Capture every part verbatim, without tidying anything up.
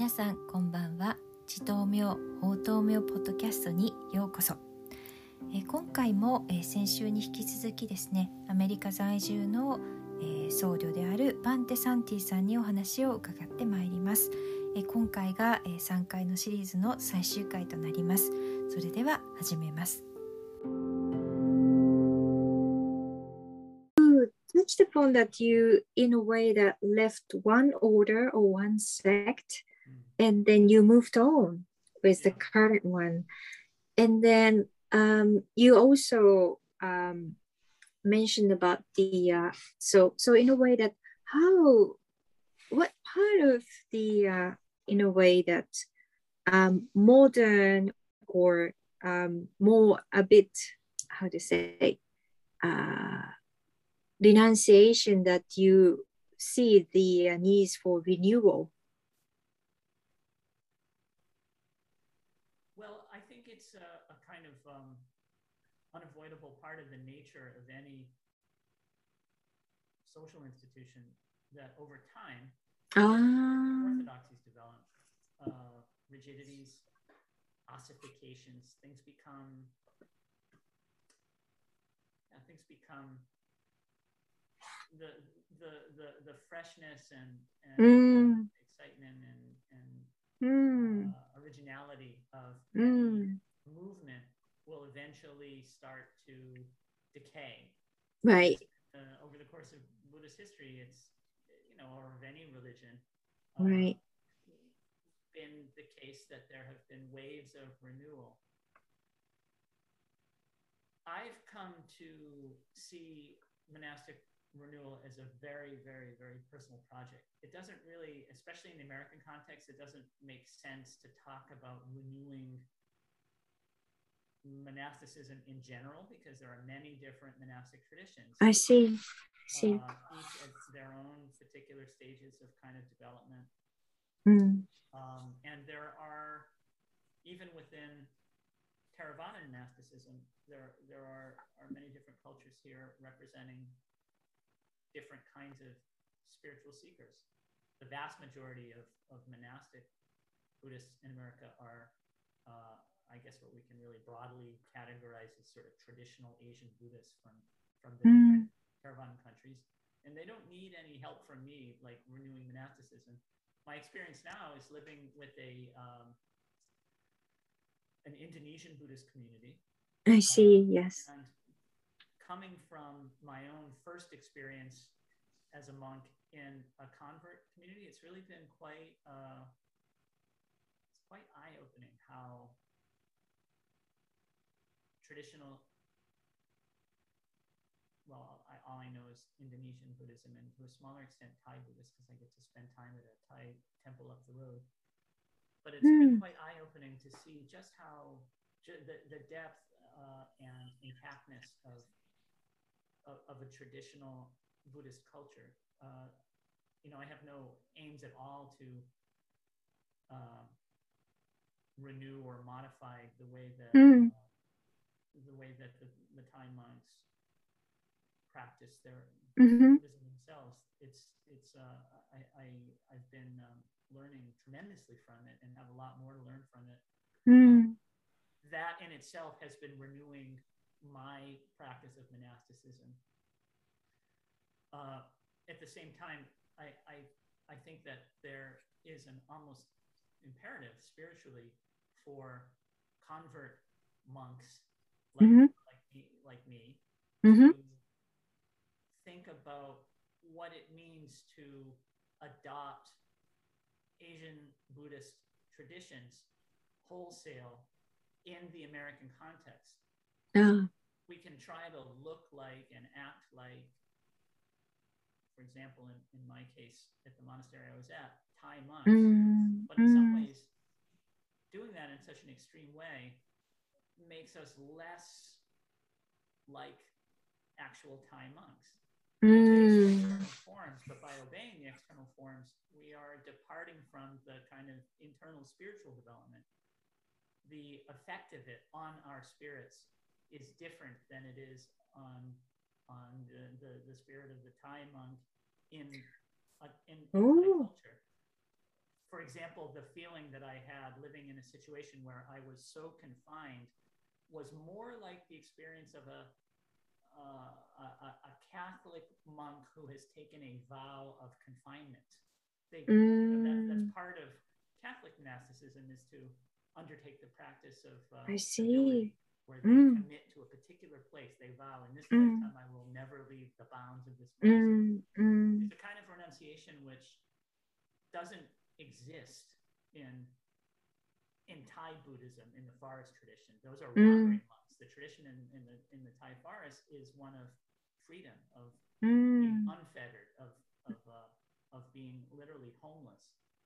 皆さんこんばんは。地頭明法頭明ポッドキャストにようこそ。えー、今回も、えー、先週に引き続きですね、アメリカ在住の、えー、僧侶であるバンテ・サンティさんにお話を伺ってまいります。えー、今回が、えー、さんかいのシリーズの最終回となります。それでは始めます。 Touched upon that you, in a way, that left one order or one sect, and then you moved on with the current one, and then um, you also um, mentioned about the uh, so so in a way that how what part of the uh, in a way that um, modern or um, more a bit how to say uh, renunciation that you see the uh, needs for renewal? Well, I think it's a, a kind of um, unavoidable part of the nature of any social institution that over time Ah. orthodoxies develop, uh, rigidities, ossifications, things become, yeah, things become the the the, the freshness and, and Mm. uh, excitement and, and Mm. uh, originality of Mm. movement will eventually start to decay. Right. Uh, over the course of Buddhist history, it's, you know, or of any religion, uh, Right. been the case that there have been waves of renewal. I've come to see monastic renewal as a very, very, very personal project. It doesn't really, especially in the American context, it doesn't make sense to talk about renewing monasticism in general because there are many different monastic traditions. I see. see. Uh, each at their own particular stages of kind of development. Mm. Um, and there are, even within Theravada monasticism, there, there are, are many different cultures here representing different kinds of spiritual seekers. The vast majority of, of monastic Buddhists in America are, uh, I guess, what we can really broadly categorize as sort of traditional Asian Buddhists from, from the Mm. different Theravada countries. And they don't need any help from me, like renewing monasticism. My experience now is living with a um, an Indonesian Buddhist community. I see, uh, yes. And coming from my own first experience as a monk in a convert community, it's really been quite uh, it's quite eye-opening how traditional, well, I, all I know is Indonesian Buddhism and to a smaller extent Thai Buddhist because I get to spend time at a Thai temple up the road. But it's Mm. been quite eye-opening to see just how ju- the, the depth uh, and intactness of, of, of a traditional Buddhist culture. Uh, you know, I have no aims at all to uh, renew or modify the way that Mm. uh, the way that the, the Thai monks practice their Mm-hmm. Buddhism themselves. It's it's uh, I, I I've been um, learning tremendously from it and have a lot more to learn from it. Mm. That in itself has been renewing my practice of monasticism. Uh, at the same time, I, I I think that there is an almost imperative spiritually for convert monks like Mm-hmm. like me, like me Mm-hmm. to think about what it means to adopt Asian Buddhist traditions wholesale in the American context. Ah. We can try to look like and act like, for example, in, in my case, at the monastery I was at, Thai monks. Mm. But in some Mm. ways, doing that in such an extreme way makes us less like actual Thai monks. We obey the Mm. external forms, but by obeying the external forms, we are departing from the kind of internal spiritual development. The effect of it on our spirits is different than it is on on the, the, the spirit of the Thai monk in uh, in, in Thai Oh. culture. for example, the feeling that I had living in a situation where I was so confined was more like the experience of a, uh, a, a Catholic monk who has taken a vow of confinement. They, mm. you know, that, that's part of Catholic monasticism, is to undertake the practice of uh, I see. where they mm. commit to a particular place. They vow, in this mm. lifetime, I will never leave the bounds of this place. Mm. Mm. It's a kind of renunciation which doesn't exist in in Thai Buddhism, in the forest tradition. Those are wandering mm. monks. The tradition in, in the in the Thai forest is one of freedom, of mm. being unfettered, of of uh, of being literally homeless.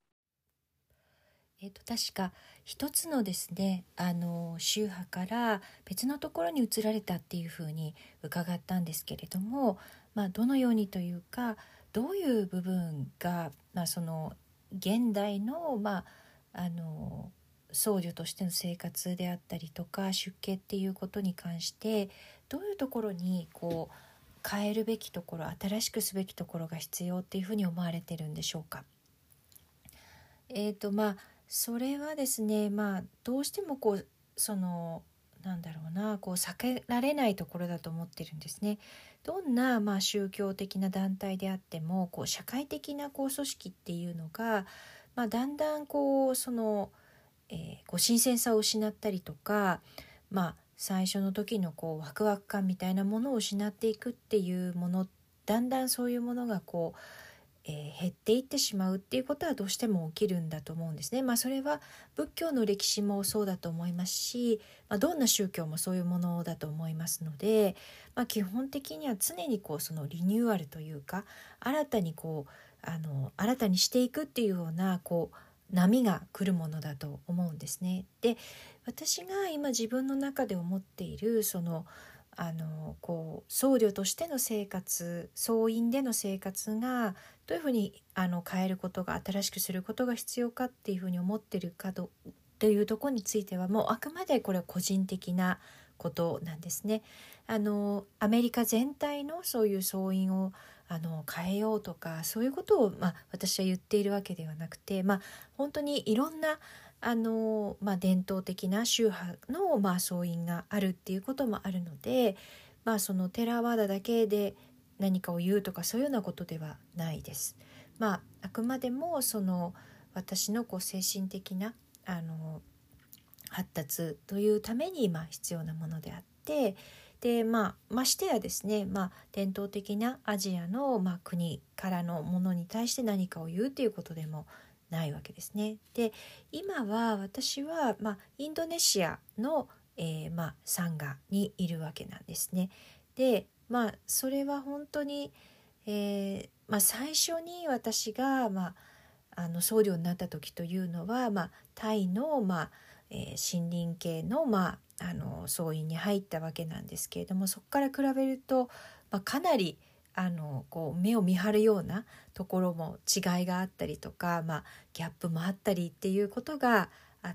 えっと、確か一つのですね、あの宗派から別のところに移られたっていうふうに伺ったんですけれども、まあ、どのようにというか、どういう部分が、まあ、その現代の、まあ、あの僧侶としての生活であったりとか出家っていうことに関してどういうところにこう変えるべきところ、新しくすべきところが必要っていうふうに思われてるんでしょうか。えーとまあそれはですね、まあどうしてもこうそのなんだろうな、こう避けられないところだと思ってるんですね。どんなまあ宗教的な団体であっても、こう社会的なこう組織っていうのが、まあ、だんだんこうその、えー、こう新鮮さを失ったりとか、まあ最初の時のこうワクワク感みたいなものを失っていくっていうもの、だんだんそういうものがこうえー、減っていってしまうっていうことはどうしても起きるんだと思うんですね。まあそれは仏教の歴史もそうだと思いますし、まあ、どんな宗教もそういうものだと思いますので、まあ、基本的には常にこうそのリニューアルというか、新たにこうあの新たにしていくっていうようなこう波が来るものだと思うんですね。で、私が今自分の中で思っているそのあのこう僧侶としての生活、僧院での生活がどういうふうにあの変えることが、新しくすることが必要かっていうふうに思ってるかというところについては、もうあくまでこれは個人的なことなんですね。あのアメリカ全体のそういう僧院をあの変えようとか、そういうことを、まあ、私は言っているわけではなくて、まあ、本当にいろんなあの、まあ、伝統的な宗派の、まあ、僧院があるっていうこともあるので、まあ、そのテラワーダだけで何かを言うとかそういうようなことではないです。まあ、あくまでもその私のこう精神的なあの発達というためにまあ必要なものであって、で、まあ、ましてやですね、まあ、伝統的なアジアの、まあ、国からのものに対して何かを言うということでもないわけですね。で、今は私は、まあ、インドネシアの、えーまあ、サンガにいるわけなんですね。で、まあ、それは本当に、えーまあ、最初に私が、まあ、あの僧侶になった時というのは、まあ、タイの、まあえー、森林系の、まあ、あの僧院に入ったわけなんですけれども、そこから比べると、まあ、かなりあのこう目を見張るようなところも違いがあったりとか、まあ、ギャップもあったりっていうことがあって、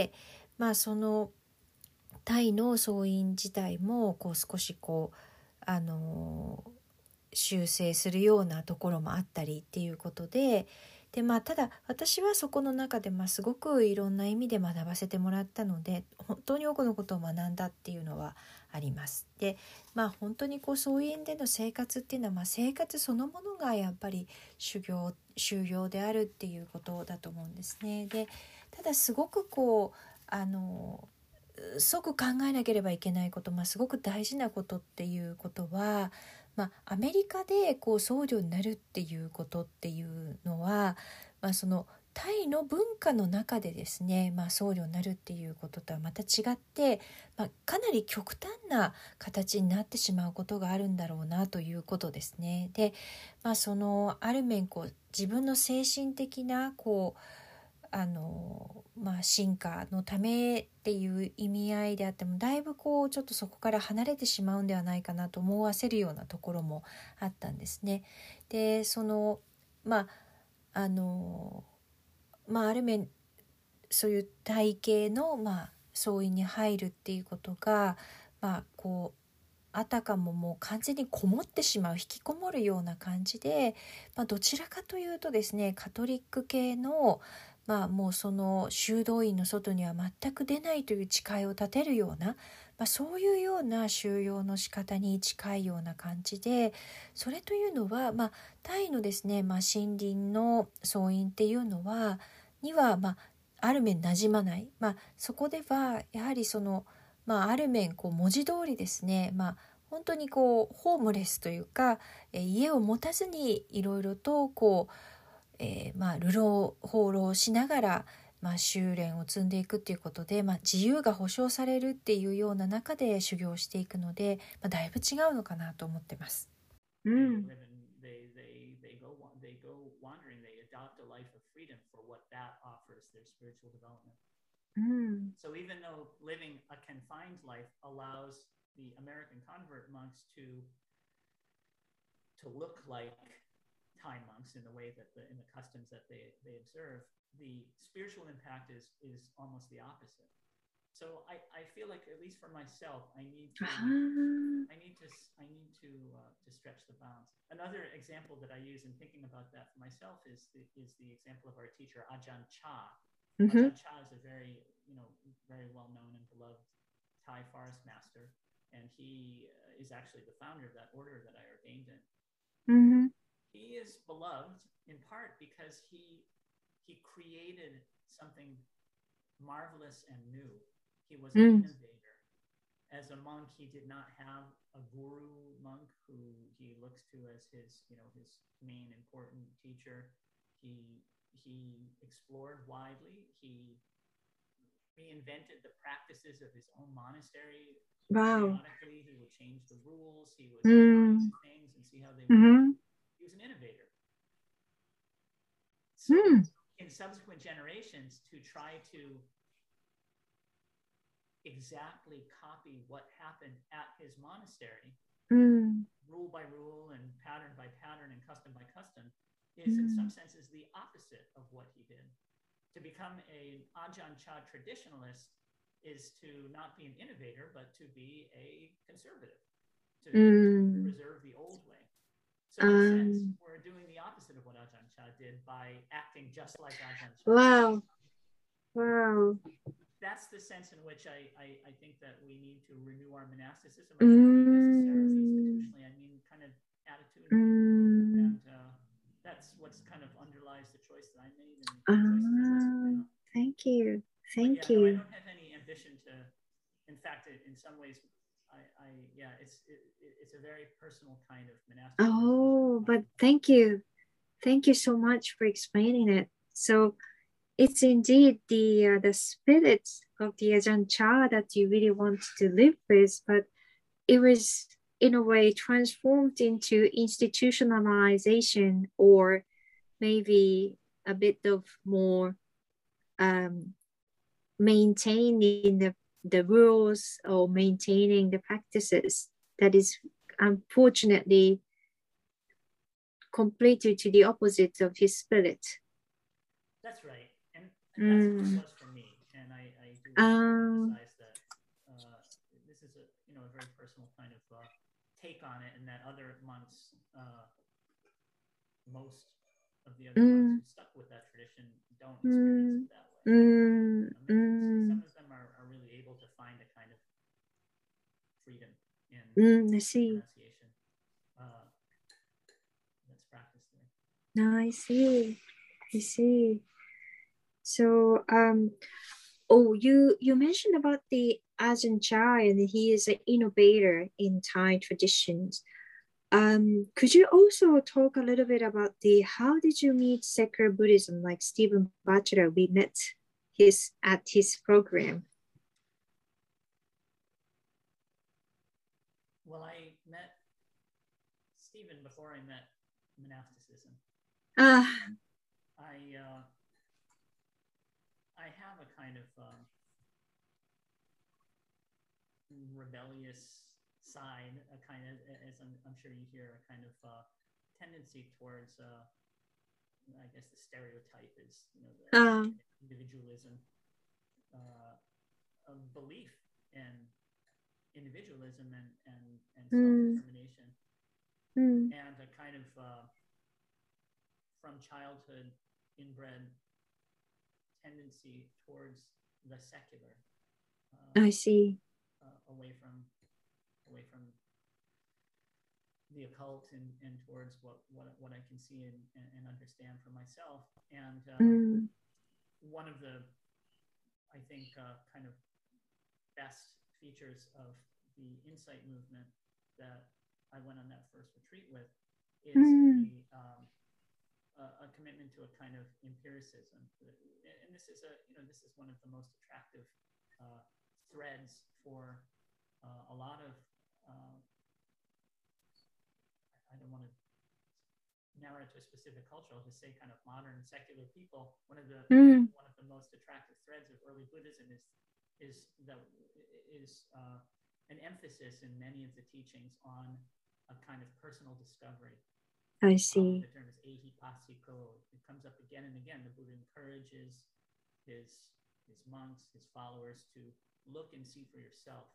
まあ、そのタイの僧院自体もこう少しこうあの修正するようなところもあったりっていうことで、で、まあ、ただ私はそこの中で、まあ、すごくいろんな意味で学ばせてもらったので、本当に多くのことを学んだっていうのはあります。で、まあ、本当にこう僧院での生活っていうのは、まあ、生活そのものがやっぱり修行修行であるっていうことだと思うんですね。で、ただすごくこうあの即考えなければいけないこと、まあ、すごく大事なことっていうことは、まあ、アメリカでこう僧侶になるっていうことっていうのは、まあ、そのタイの文化の中でですね、まあ、僧侶になるっていうこととはまた違って、まあ、かなり極端な形になってしまうことがあるんだろうなということですね。で、まあ、そのある面こう自分の精神的なこうあのまあ、進化のためっていう意味合いであっても、だいぶこうちょっとそこから離れてしまうんではないかなと思わせるようなところもあったんですね。で、そのまああのまあある面そういう体系のまあ僧院に入るっていうことが、まあこうあたかももう完全にこもってしまう、引きこもるような感じで、まあ、どちらかというとですね、カトリック系のまあ、もうその修道院の外には全く出ないという誓いを立てるような、まあ、そういうような収容の仕方に近いような感じで、それというのは、まあ、タイのですね、まあ、森林の僧院っていうのはには、まあ、ある面馴染まない、まあ、そこではやはりその、まあ、ある面こう文字通りですね、まあ、本当にこうホームレスというか、え家を持たずにいろいろとこうえー、まあ流浪放浪しながら、まあ、修練を積んでいくっていうことで、まあ、自由が保障されるっていうような中で修行していくので、まあ、だいぶ違うのかなと思ってます。 うん、 Mm. So even though living a confined life allows the American convert monks to to look like Thai monks in the way that the in the customs that they they observe, the spiritual impact is is almost the opposite. So I, I feel like, at least for myself, I need to Ah. I need to I need to uh, to stretch the bounds. Another example that I use in thinking about that for myself is the, is the example of our teacher Ajahn Chah. Mm-hmm. Ajahn Chah is a very you know very well known and beloved Thai forest master, and he uh, is actually the founder of that order that I ordained in. Mm-hmm. He is beloved in part because he he created something marvelous and new. He was an Mm. innovator. As a monk, he did not have a guru monk who he looks to as his, you know, his main important teacher. He he explored widely. He reinvented the practices of his own monastery. Wow. Periodically, he would change the rules. He would Mm. try new things and see how they work. Mm-hmm. He was an innovator. So Mm. in subsequent generations, to try to exactly copy what happened at his monastery, Mm. rule by rule and pattern by pattern and custom by custom, is in some senses the opposite of what he did. To become an Ajahn Chah traditionalist is to not be an innovator, but to be a conservative, to, Mm. to preserve the old way. So in a sense, Um. we're doing the opposite of what Ajahn Chah did by acting just like Ajahn Chah. Wow. Wow. That's the sense in which I, I, I think that we need to renew our monasticism. I Mm. don't mean necessarily institutionally, I mean kind of attitudinally. Mm. And uh, that's what's kind of underlies the choice that I made and the Ah, choices I make now. thank you. Thank but yeah, you. No, I don't have any ambition to, in fact, it, in some ways, I, I yeah, it's it, it's a very personal kind of monasticism. Oh, but thank you. Thank you so much for explaining it. So it's indeed the uh, the spirit of the Ajahn Chah that you really want to live with, but it was in a way transformed into institutionalization, or maybe a bit of more um, maintaining the, the rules or maintaining the practices that is unfortunately completely to the opposite of his spirit. That's right. And, and that's Mm. what it was for me. And I, I do Um, emphasize that uh, this is a, you know, a very personal kind of uh, take on it, and that other monks, uh, most of the other mm, monks who stuck with that tradition don't experience mm, it that way. mm, I mean, mm, some of them are, are really able to find a kind of freedom in mm, I see. pronunciation uh, that's practiced there. No, I see. I see. So, um, oh, you you mentioned about the Ajahn Chah, and he is an innovator in Thai traditions. Um, could you also talk a little bit about the how did you meet secular Buddhism, like Stephen Batchelor? We met his at his program. Well, I met Stephen before I met monasticism. Ah. I uh, I have a kind of um, rebellious side, a kind of, as I'm, I'm sure you hear, a kind of uh, tendency towards, uh, I guess the stereotype is, you know, the uh. individualism, uh, a belief in individualism and and, and self-determination, mm. and a kind of uh, from childhood inbred tendency towards the secular, uh, I see. uh, away from away from the occult and, and towards what, what what I can see and, and understand for myself. And um, Mm. one of the, I think, uh, kind of best features of the Insight movement that I went on that first retreat with is Mm. the um, uh, a commitment to a kind of empiricism. And this is a, you know, this is one of the most attractive uh, threads for uh, a lot of, uh, I don't want to narrow it to a specific culture, I'll just say kind of modern secular people. One of the Mm. one of the most attractive threads of early Buddhism is is that is uh, an emphasis in many of the teachings on a kind of personal discovery. I Um, see. the term is ehipassiko. It comes up again and again. The Buddha encourages his his monks, his followers, to look and see for yourself.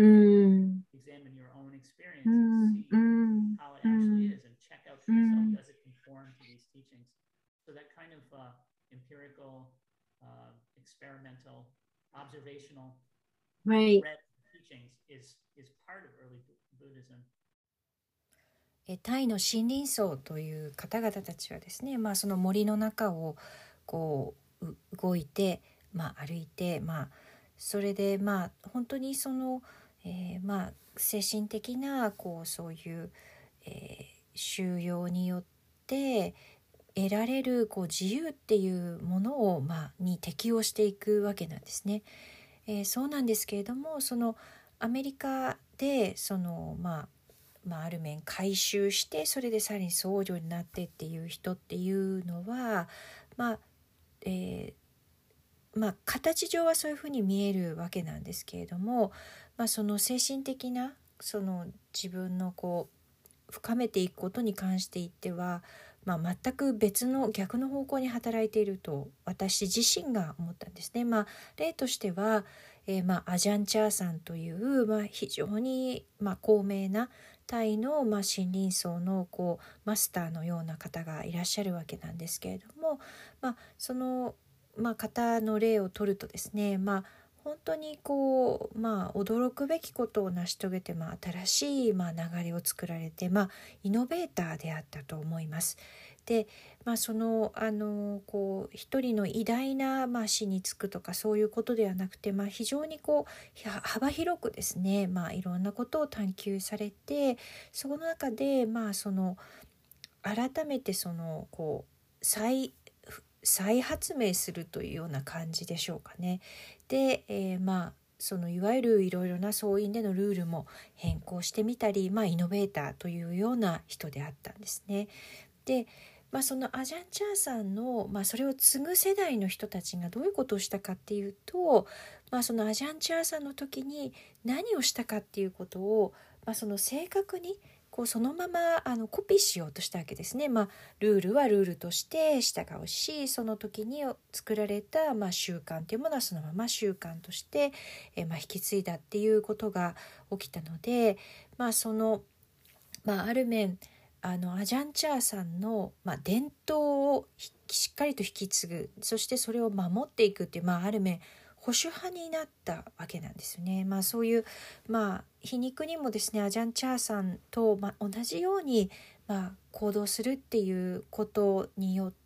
Mm. Examine your own experiences, Mm. see Mm. how it actually Mm. is, and check out for yourself, Mm. does it conform to these teachings? So that kind of uh, empirical, uh, experimental, observational Right. thread of teachings is is part of early Buddhism. えタイの森林層という方々たちはですね、まあ、その森の中をこうう動いて、まあ、歩いて、まあ、それでまあ本当にその、えーまあ、精神的なこうそういう、えー修養によって得られるこう自由っていうものを、まあ、に適応していくわけなんですね。えーそうなんですけれども、そのアメリカでそのまあまあ、ある面改宗してそれでさらに僧侶になってっていう人っていうのはまあ、えーまあ、形上はそういうふうに見えるわけなんですけれども、まあ、その精神的なその自分のこう深めていくことに関して言っては、まあ、全く別の逆の方向に働いていると私自身が思ったんですね。まあ、例としては、えーまあ、アジャンチャーさんという、まあ、非常に、まあ、高名なタイの、まあ、森林層のこうマスターのような方がいらっしゃるわけなんですけれども、まあ、その、まあ、方の例を取るとですね、まあ、本当にこう、まあ、驚くべきことを成し遂げて、まあ、新しい、まあ、流れを作られて、まあ、イノベーターであったと思います。で、まあ、そのあのこう一人の偉大な、まあ、死に就くとかそういうことではなくて、まあ、非常にこう幅広くですね、まあ、いろんなことを探求されてその中で、まあ、その改めてそのこう再再発明するというような感じでしょうかね。で、えー、まあそのいわゆるいろいろな僧院でのルールも変更してみたり、まあ、イノベーターというような人であったんですね。で、まあ、そのアジャンチャーさんの、まあ、それを継ぐ世代の人たちがどういうことをしたかっていうと、まあ、そのアジャンチャーさんの時に何をしたかっていうことを、まあ、その正確にこうそのままあのコピーしようとしたわけですね。まあ、ルールはルールとして従うし、その時に作られた、まあ、習慣というものはそのまま習慣として、えまあ、引き継いだっていうことが起きたので、まあそのまあ、ある面あのアジャンチャーさんの、まあ、伝統をしっかりと引き継ぐ、そしてそれを守っていくっていう、まあ、ある面保守派になったわけなんですよね。まあ、そういう、まあ、皮肉にもですねアジャンチャーさんと、まあ、同じように、まあ、行動するっていうことによって、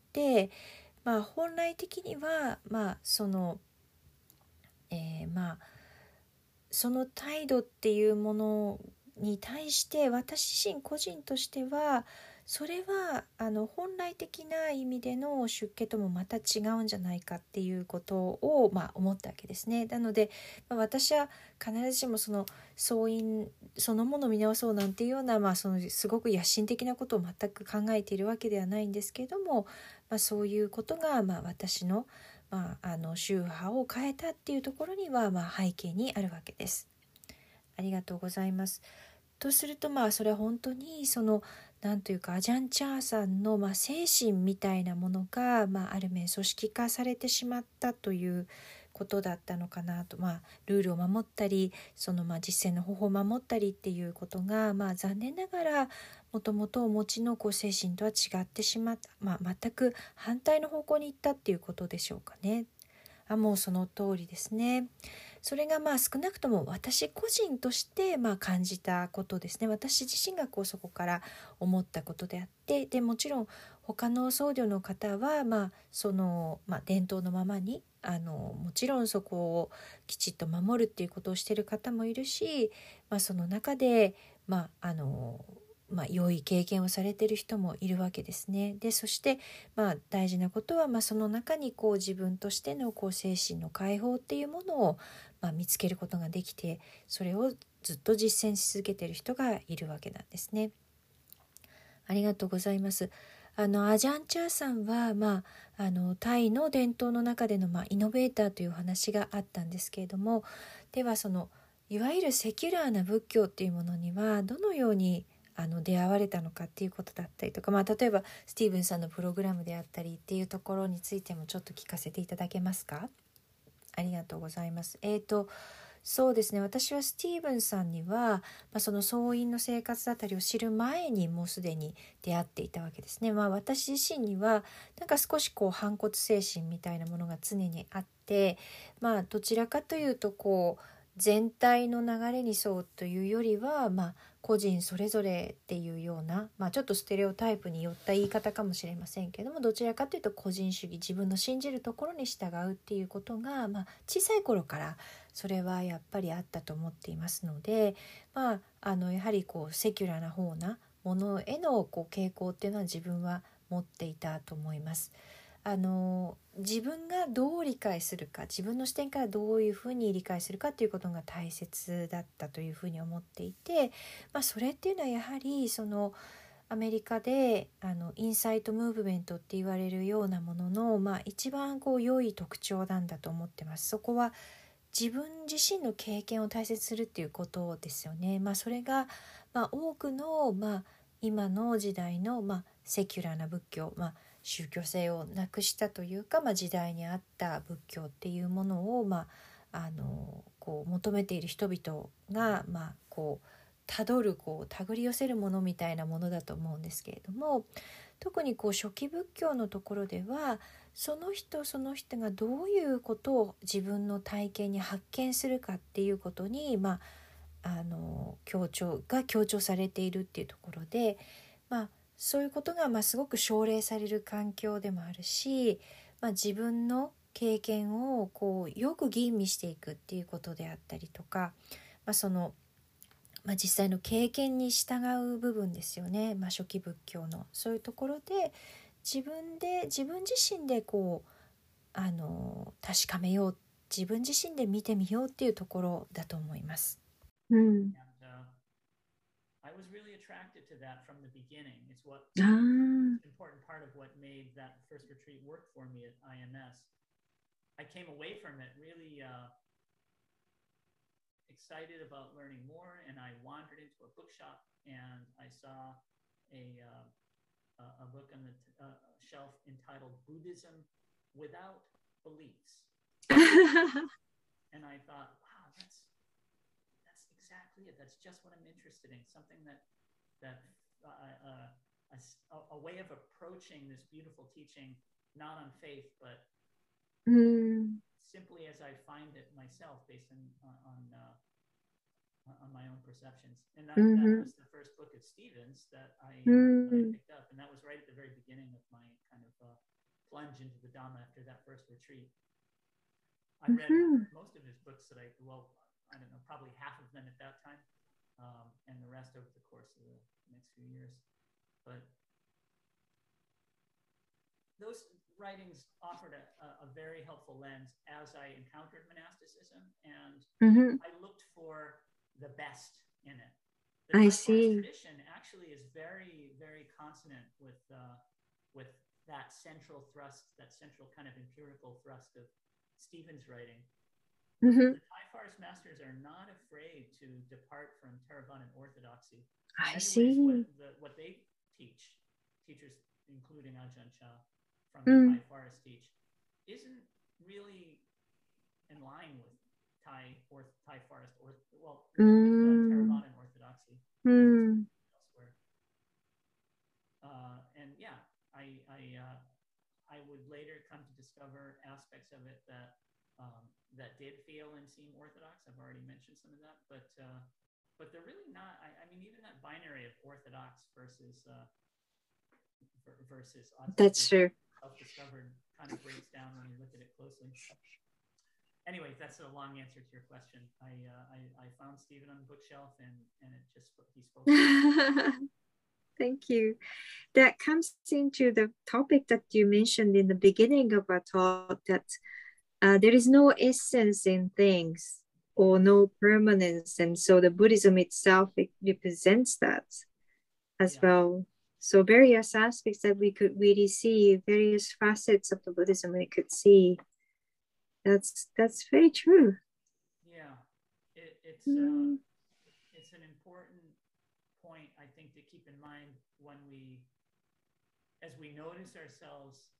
まあ、本来的には、まあそのえー、まあその態度っていうものに対して私自身個人としてはそれはあの本来的な意味での出家ともまた違うんじゃないかっていうことを、まあ、思ったわけですね。なので、まあ、私は必ずしもその僧院そのものを見直そうなんていうような、まあ、そのすごく野心的なことを全く考えているわけではないんですけれども、まあ、そういうことが、まあ、私の、まあ、あの宗派を変えたっていうところには、まあ、背景にあるわけです。ありがとうございます。とするとまあそれは本当にそのなんというかアジャンチャーさんのまあ精神みたいなものがまあある面組織化されてしまったということだったのかなと、まあルールを守ったりそのまあ実践の方法を守ったりっていうことがまあ残念ながらもともとお持ちのこう精神とは違ってしまった、まあ、全く反対の方向に行ったっていうことでしょうかね。 あもうその通りですね。それがまあ少なくとも私個人としてまあ感じたことですね。私自身がこうそこから思ったことであって、でもちろん他の僧侶の方はまあその、まあ、伝統のままにあのもちろんそこをきちっと守るっていうことをしている方もいるし、まあ、その中でまああのまあ、良い経験をされている人もいるわけですね。でそして、まあ、大事なことは、まあ、その中にこう自分としてのこう精神の解放っていうものを、まあ、見つけることができて、それをずっと実践し続けている人がいるわけなんですね。ありがとうございます。あのアジャンチャーさんは、まあ、あのタイの伝統の中での、まあ、イノベーターというお話があったんですけれども、ではそのいわゆるセキュラーな仏教っていうものにはどのようにあの出会われたのかっていうことだったりとか、まあ、例えばスティーブンさんのプログラムであったりっていうところについてもちょっと聞かせていただけますか？ありがとうございます。えーとそうですね、私はスティーブンさんには、まあ、その僧院の生活だったりを知る前にもうすでに出会っていたわけですね。まあ、私自身にはなんか少しこう反骨精神みたいなものが常にあって、まあ、どちらかというとこう全体の流れに沿うというよりは、まあ、個人それぞれっていうような、まあ、ちょっとステレオタイプによった言い方かもしれませんけども、どちらかというと個人主義、自分の信じるところに従うっていうことが、まあ、小さい頃からそれはやっぱりあったと思っていますので、まあ、あのやはりこうセキュラーな方なものへのこう傾向っていうのは自分は持っていたと思います。あの自分がどう理解するか、自分の視点からどういうふうに理解するかということが大切だったというふうに思っていて、まあ、それっていうのはやはりそのアメリカであのインサイトムーブメントって言われるようなものの、まあ、一番こう良い特徴なんだと思ってます。そこは自分自身の経験を大切にするっていうことですよね。まあ、それが、まあ、多くの、まあ、今の時代の、まあ、セキュラーな仏教、まあ、宗教性をなくしたというか、まあ、時代に合った仏教っていうものを、まあ、あのこう求めている人々が、まあ、こうたどるこう手繰り寄せるものみたいなものだと思うんですけれども、特にこう初期仏教のところではその人その人がどういうことを自分の体験に発見するかっていうことに、まあ、あの強調が強調されているっていうところで、まあ、そういうことがまあすごく奨励される環境でもあるし、まあ、自分の経験をこうよく吟味していくっていうことであったりとか、まあそのまあ、実際の経験に従う部分ですよね。まあ、初期仏教のそういうところで自分で自分自身でこうあの確かめよう、自分自身で見てみようっていうところだと思います。 うん。 And, uh, I was really attracted to that from the beginning. It's what an important part of what made that first retreat work for me at I M S. I came away from it really uh, excited about learning more, and I wandered into a bookshop and I saw a uh, a book on the t- uh, shelf entitled Buddhism Without Beliefs. And I thought, wow, that's that's exactly it. That's just what I'm interested in. Something that that uh, uh, a, a way of approaching this beautiful teaching, not on faith, but Mm. simply as I find it myself, based on on uh, on my own perceptions. And that, Mm-hmm. that was the first book of Stevens that I, uh, Mm. that I picked up, and that was right at the very beginning of my kind of uh, plunge into the Dhamma after that first retreat. I read Mm-hmm. most of his books that I, well, I don't know, probably half of them at that time, um, and the rest over the course of the next few years. But those writings offered a, a very helpful lens as I encountered monasticism, and Mm-hmm. I looked for the best in it. I The Thai forest see. tradition actually is very, very consonant with uh, with that central thrust, that central kind of empirical thrust of Stephen's writing. Mm-hmm. The Thai forest masters are not afraid to depart from Theravadan orthodoxy. I In many see. ways, what, the, what they teach, teachers including Ajahn Chah from the Mm. Thai forest teach, isn't really in line with Thai or Thai forest or well with uh, Mm. Theravadan orthodoxy Mm. elsewhere. Uh, and yeah, I I uh, I would later come to discover aspects of it that um, that did feel and seem orthodox. I've already mentioned some of that, but uh, but they're really not. I, I mean, even that binary of orthodox versus uh, versus That's true. self-discovered kind of breaks down when you look at it closely. Anyway, that's a long answer to your question. I uh, I, I found Stephen on the bookshelf, and and it just he spoke. Thank you. That comes into the topic that you mentioned in the beginning of our talk, that uh, there is no essence in things or no permanence, and so the Buddhism itself, it represents that as yeah. well. So various aspects that we could really see, various facets of the Buddhism we could see. That's that's very true. Yeah, it, it's mm. uh, it's an important point, I think, to keep in mind when we, as we notice ourselves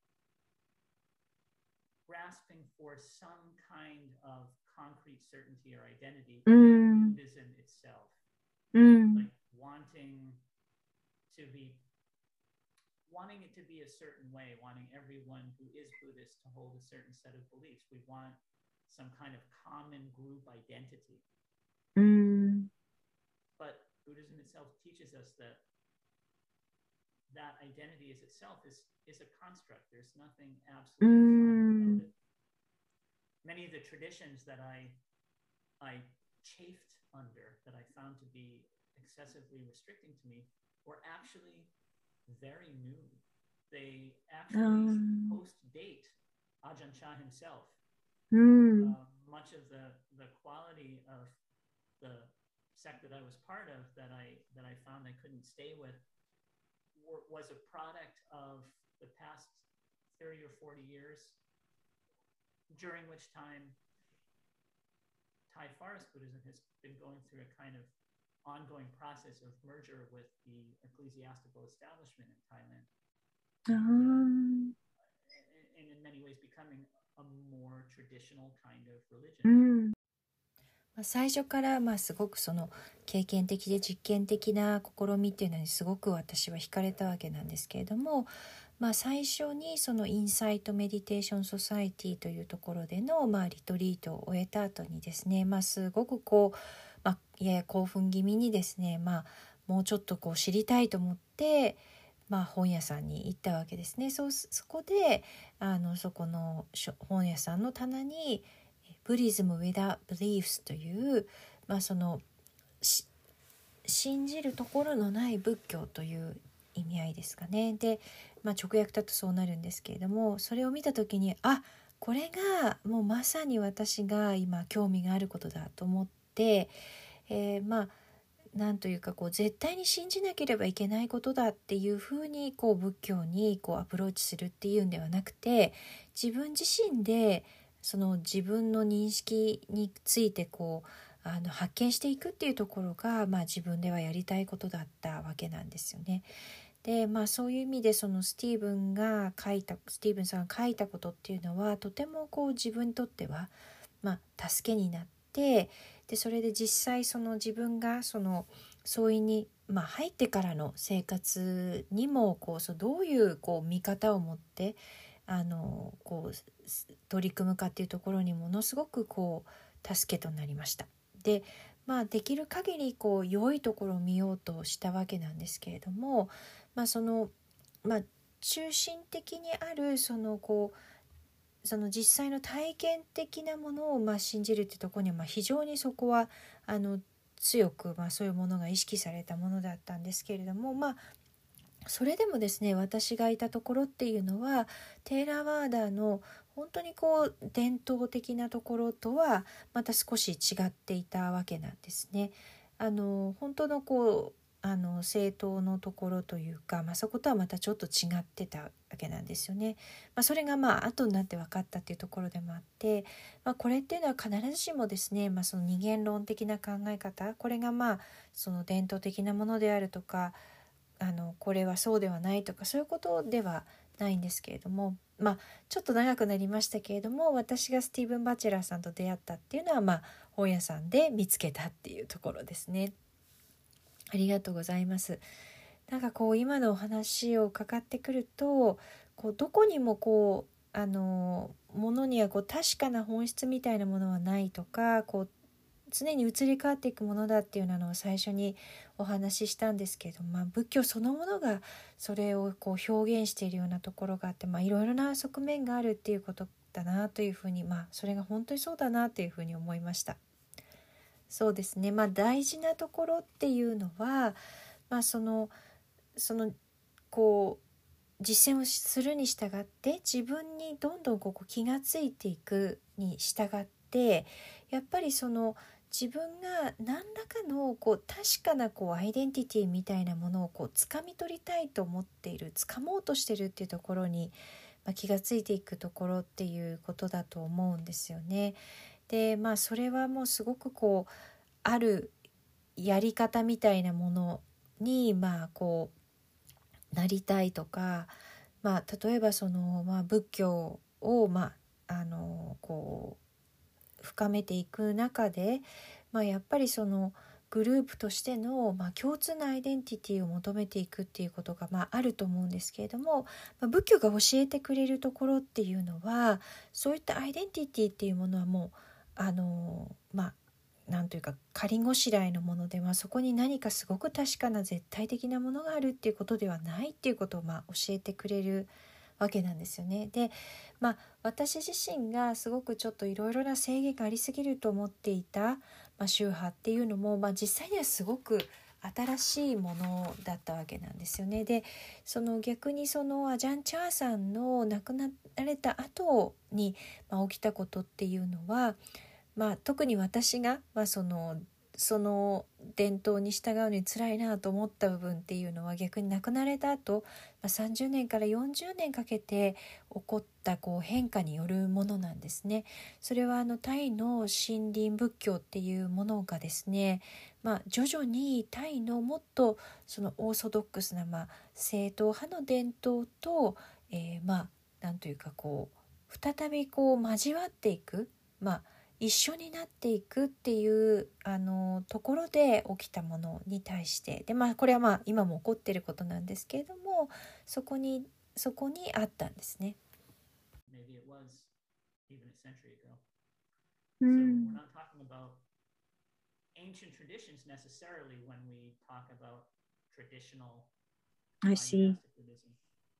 grasping for some kind of concrete certainty or identity mm. in Buddhism itself, mm. like wanting to be, wanting it to be a certain way, wanting everyone who is Buddhist to hold a certain set of beliefs. We want some kind of common group identity. Mm. But Buddhism itself teaches us that that identity as itself is, is a construct. There's nothing absolutely mm. final about it. Many of the traditions that I, I chafed under, that I found to be excessively restricting to me, were actually very new. They actually um. post-date Ajahn Chah himself. Mm. Uh, much of the, the quality of the sect that I was part of, that I that I found I couldn't stay with, were, was a product of the past thirty or forty years, during which time Thai Forest Buddhism has been going through a kind of ongoing process of merger with the ecclesiastical establishment in Thailand, um. and, and in many ways becoming a more traditional kind of religion. 最初からまあすごくその経験的で実験的な試みっていうのにすごく私は惹かれたわけなんですけれども、まあ、最初にそのインサイトメディテーションソサエティというところでのまあリトリートを終えた後にですね、まあ、すごくこう、まあ、やや興奮気味にですね、まあ、もうちょっとこう知りたいと思って、まあ、本屋さんに行ったわけですね。そうそこであのそこの本屋さんの棚にBuddhism without beliefs という、まあ、その信じるところのない仏教という意味合いですかね。で、まあ、直訳だとそうなるんですけれども、それを見た時にあこれがもうまさに私が今興味があることだと思って、えー、まあなんというかこう絶対に信じなければいけないことだっていうふうにこう仏教にこうアプローチするっていうんではなくて、自分自身でその自分の認識についてこうあの発見していくっていうところが、まあ、自分ではやりたいことだったわけなんですよね。で、まあ、そういう意味でそのスティーブンが書いたスティーブンさんが書いたことっていうのはとてもこう自分にとっては、まあ、助けになって、でそれで実際その自分がその僧院に、まあ、入ってからの生活にもこうそうどういうこう見方を持ってあのこう取り組むかっていうところにものすごくこう助けとなりました。で、まあ、できる限りこう良いところを見ようとしたわけなんですけれども、まあそのまあ、中心的にあるそのこうその実際の体験的なものをまあ信じるっていうところにはまあ非常にそこはあの強くまあそういうものが意識されたものだったんですけれども、まあそれでもですね、私がいたところっていうのはテーラワーダの本当にこう伝統的なところとはまた少し違っていたわけなんですね。あの本当のこうあの政党のところというか、まあ、そことはまたちょっと違ってたわけなんですよね。まあ、それがまあ後になって分かったっていうところでもあって、まあ、これっていうのは必ずしもですね、まあ、その二元論的な考え方、これがまあその伝統的なものであるとか、あのこれはそうではないとかそういうことではないんですけれども、まあちょっと長くなりましたけれども、私がスティーブン・バチェラーさんと出会ったっていうのはまあ本屋さんで見つけたっていうところですね。ありがとうございます。なんかこう今のお話を伺ってくると、こうどこにもこうあのものにはこう確かな本質みたいなものはないとか、こう常に移り変わっていくものだっていうのを最初にお話ししたんですけれども、まあ、仏教そのものがそれをこう表現しているようなところがあって、まあ、いろいろな側面があるっていうことだなというふうに、まあ、それが本当にそうだなというふうに思いました。そうですね、まあ、大事なところっていうのは、まあ、そのそのこう実践をするに従って自分にどんどんこう気がついていくに従って、やっぱりその自分が何らかのこう確かなこうアイデンティティみたいなものをこう掴み取りたいと思っている、掴もうとしてるっていうところに、まあ、気がついていくところっていうことだと思うんですよね。でまあそれはもうすごくこうあるやり方みたいなものにまあこうなりたいとか、まあ例えばその、まあ、仏教をまああのこう深めていく中で、まあ、やっぱりそのグループとしての、まあ、共通のアイデンティティを求めていくっていうことが、まあ、あると思うんですけれども、まあ、仏教が教えてくれるところっていうのは、そういったアイデンティティっていうものはもうあのまあなんというか仮ごしらえのもので、まあ、そこに何かすごく確かな絶対的なものがあるっていうことではないっていうことを、まあ、教えてくれるわけなんですよね。で、まあ、私自身がすごくちょっといろいろな制限がありすぎると思っていた、まあ、宗派っていうのも、まあ、実際にはすごく新しいものだったわけなんですよね。で、その逆にそのアジャン・チャーさんの亡くなられた後に、まあ、起きたことっていうのは、まあ、特に私が、まあ、そのその伝統に従うのに辛いなと思った部分っていうのは、逆に亡くなられた後、まあ、さんじゅうねんからよんじゅうねんかけて起こったこう変化によるものなんですね。それはあのタイの森林仏教っていうものがですね、まあ、徐々にタイのもっとそのオーソドックスな、まあ、正統派の伝統と、えー、まあなんというかこう再びこう交わっていく、まあ一緒になっていくっていうあのところで起きたものに対してで、まあ、これはまあ今も起こっていることなんですけれども、そこにそこにあったんですね。 Maybe it was even a century ago. Mm. So we're not talking about ancient traditions necessarily when we talk about traditional I see. monastic Buddhism.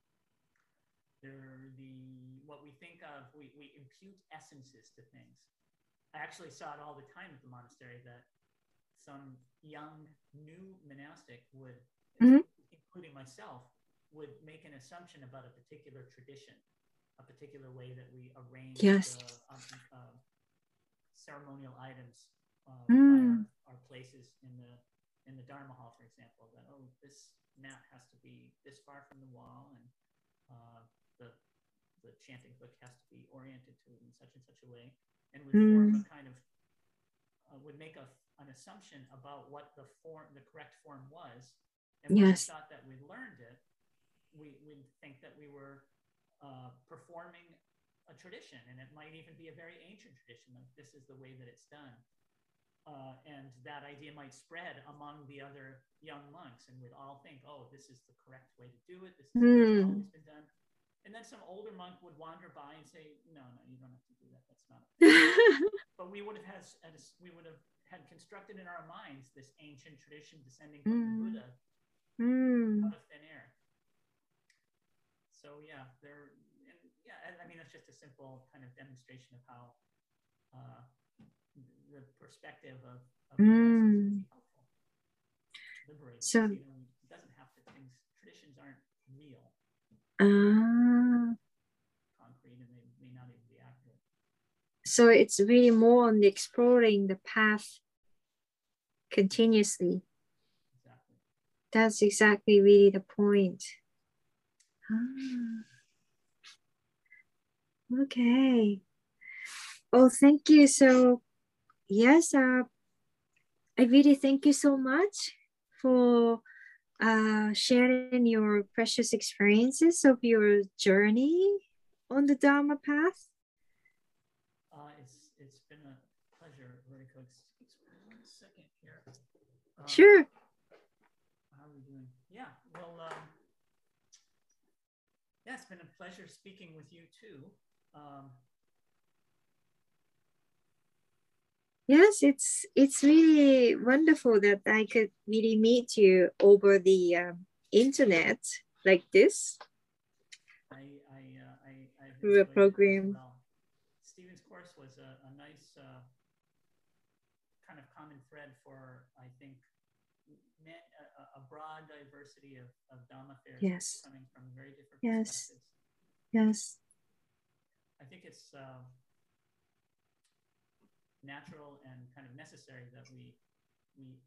They're the what we think of, we, we impute essences to things. I actually saw it all the time at the monastery that some young new monastic would, Mhm. including myself, would make an assumption about a particular tradition, a particular way that we arrange Yes. the um, uh, ceremonial items uh, Mm. by our, our places in the in the Dharma hall, for example. That oh, this mat has to be this far from the wall, and uh, the the chanting book has to be oriented to it in such and such a way, and would Mm. form a kind of uh, would make a, an assumption about what the form, the correct form was, and when Yes. we thought that we learned it, we would think that we were uh, performing a tradition, and it might even be a very ancient tradition. Like this is the way that it's done, uh, and that idea might spread among the other young monks, and we'd all think, "Oh, this is the correct way to do it. This is the way it's Mm. always been done." And then some older monk would wander by and say, "No, no, you don't have to do that. That's not." But we would have had we would have had constructed in our minds this ancient tradition descending from the Mm. Buddha Mm. out of thin air. So yeah, there. And yeah, I mean that's just a simple kind of demonstration of how uh, the perspective of, of the West is Mm. really helpful, liberating. So, You know, it doesn't have to things. Traditions aren't real, ah, concrete, and they may not even be accurate. so it's really more on the exploring the path continuously. Exactly. That's exactly really the point. Ah. Okay. Oh, thank you. So, yes, uh, I really thank you so much for uh, sharing your precious experiences of your journey on the Dharma path. Uh, it's it's been a pleasure, Ruriko. Excuse me one second here. Um, Sure. How are we doing? Yeah. Well, um, yeah, it's been a pleasure speaking with you too. Um, Yes, it's it's really wonderful that I could really meet you over the um, internet like this I I uh, I I've through a enjoyed it as program. well. Stephen's course was a, a nice uh, kind of common thread for, I think, man, a, a broad diversity of, of Dhamma fairs Yes. coming from very different Yes. perspectives. Yes. I think it's uh, natural and kind of necessary that we we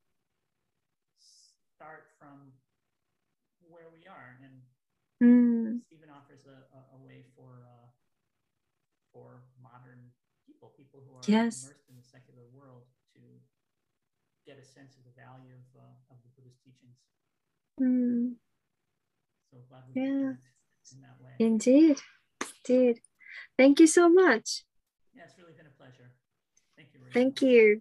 start from where we are, and Mm. Stephen offers a, a, a way for uh, for modern people, people who are Yes. immersed in the secular world, to get a sense of the value of uh, of the Buddhist teachings. Mm. So glad we Yeah. could connect in that way. Indeed. Indeed. Thank you so much. Yeah, it's really been a pleasure. Thank you, Rachel. Thank you.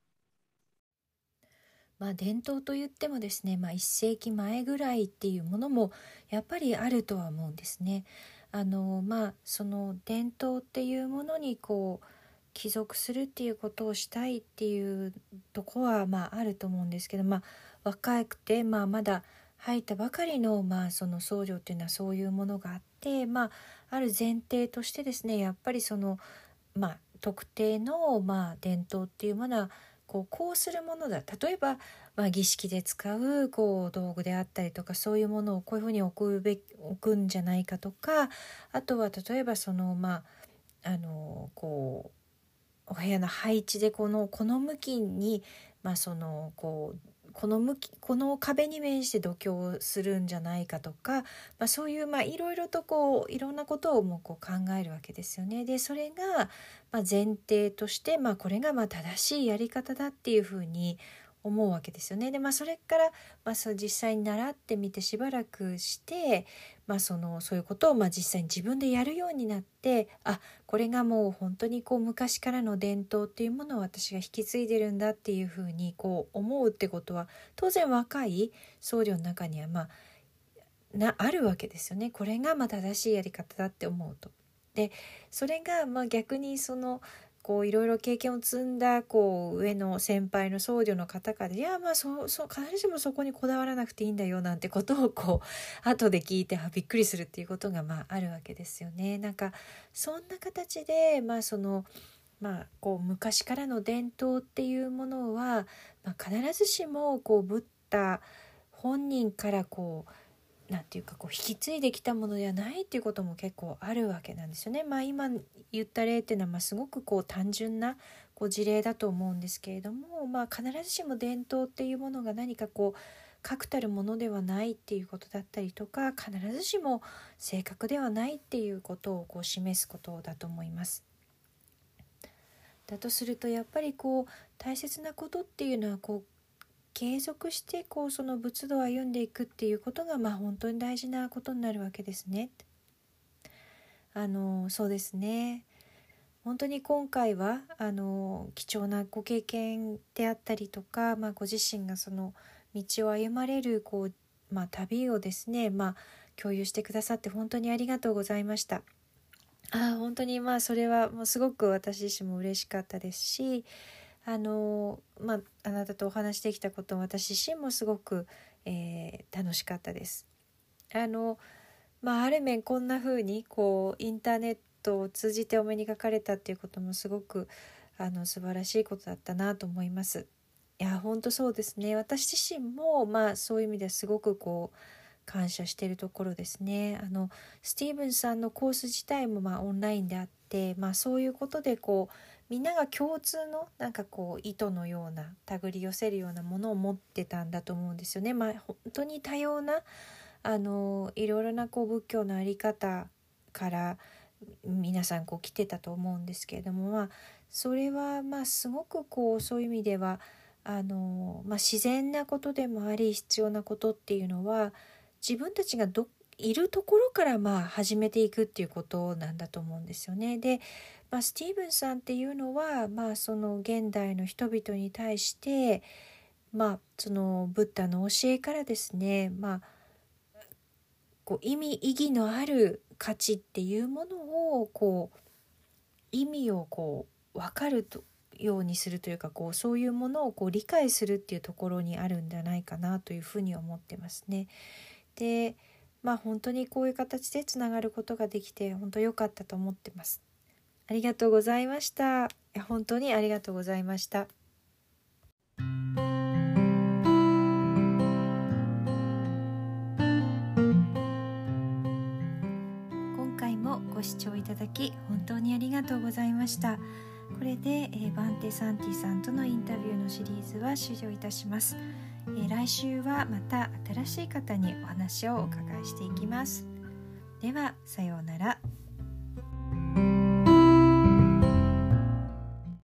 まあ伝統といってもですね、まあ、いっ世紀前ぐらいっていうものもやっぱりあるとは思うんですね。あのまあその伝統っていうものにこう帰属するっていうことをしたいっていうとこはまああると思うんですけど、まあ、若くて、まあ、まだ入ったばかりの、まあ、その僧侶っていうのはそういうものがあって、まあ、ある前提としてですね、やっぱりその、まあ、特定の、まあ、伝統っていうものはこうこうするものだ、例えば、まあ、儀式で使うこう道具であったりとか、そういうものをこういうふうに置くべき置くんじゃないかとか、あとは例えばそのまああのこうお部屋の配置でこのこの向きに、まあ、そのこうこの向きこの壁に面して度胸をするんじゃないかとか、まあ、そういうまあいろいろとこういろんなことをもうこう考えるわけですよね。でそれがまあ前提として、まあ、これがまあ正しいやり方だっていうふうに思うわけですよね。で、まあ、それから、まあ、そう実際に習ってみてしばらくして、まあ、そのそういうことをまあ実際に自分でやるようになって、あ、これがもう本当にこう昔からの伝統っていうものを私が引き継いでるんだっていうふうにこう思うってことは、当然若い僧侶の中にはまあなあるわけですよね。これがまあ正しいやり方だって思うと。でそれがまあ逆にそのこういろいろ経験を積んだこう上の先輩の僧侶の方から、いやまあそうそう必ずしもそこにこだわらなくていいんだよなんてことをこう後で聞いてあびっくりするっていうことがまああるわけですよね。なんかそんな形でまあそのまあこう昔からの伝統っていうものは、まあ、必ずしもこうブッダ本人からこうなんていうかこう引き継いできたものではないっていうことも結構あるわけなんですよね。まあ今言った例っていうのはまあすごくこう単純なこう事例だと思うんですけれども、まあ必ずしも伝統っていうものが何かこう確たるものではないっていうことだったりとか、必ずしも正確ではないっていうことをこう示すことだと思います。だとするとやっぱりこう大切なことっていうのはこう継続してこうその仏道を歩んでいくっていうことがまあ本当に大事なことになるわけですね。あのそうですね。本当に今回はあの貴重なご経験であったりとか、まあ、ご自身がその道を歩まれるこう、まあ、旅をですね、まあ、共有してくださって本当にありがとうございました。あ本当にまあそれはもうすごく私自身も嬉しかったですし、あのまあ、あなたとお話しできたことも私自身もすごく、えー、楽しかったです。あの、まあ、ある面こんな風にこうインターネットを通じてお目にかかれたっていうこともすごくあの素晴らしいことだったなと思います。いや本当そうですね。私自身も、まあ、そういう意味ではすごくこう感謝しているところですね。あのスティーブンさんのコース自体もまあオンラインであって、まあ、そういうことでこうみんなが共通のなんかこう糸のような手繰り寄せるようなものを持ってたんだと思うんですよね。まあ本当に多様なあのいろいろなこう仏教の在り方から皆さんこう来てたと思うんですけれども、まあそれはまあすごくこうそういう意味ではあの、まあ、自然なことでもあり必要なことっていうのは自分たちがどいるところからまあ始めていくっていうことなんだと思うんですよね。で、まあ、スティーブンさんっていうのは、まあ、その現代の人々に対して、まあ、そのブッダの教えからですね、まあ、こう意味意義のある価値っていうものをこう意味をこう分かるとようにするというか、こうそういうものをこう理解するっていうところにあるんじゃないかなというふうに思ってますね。で、まあ本当にこういう形でつながることができて本当良かったと思ってます。ありがとうございました。いや本当にありがとうございました。今回もご視聴いただき本当にありがとうございました。これで、えー、バンテ・サンティさんとのインタビューのシリーズは終了いたします。えー、来週はまた新しい方にお話をお伺いしていきます。ではさようなら。